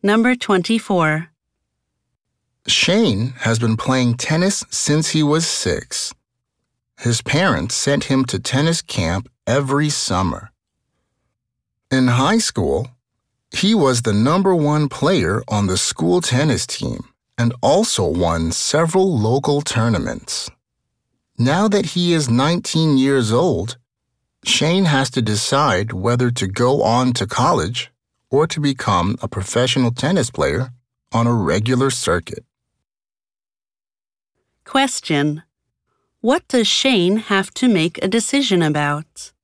Number 24. Shane has been playing tennis since he was 6. His parents sent him to tennis camp every summer. In high school, he was the #1 player on the school tennis team and also won several local tournaments. Now that he is 19 years old, Shane has to decide whether to go on to college or to become a professional tennis player on a regular circuit. Question. What does Shane have to make a decision about?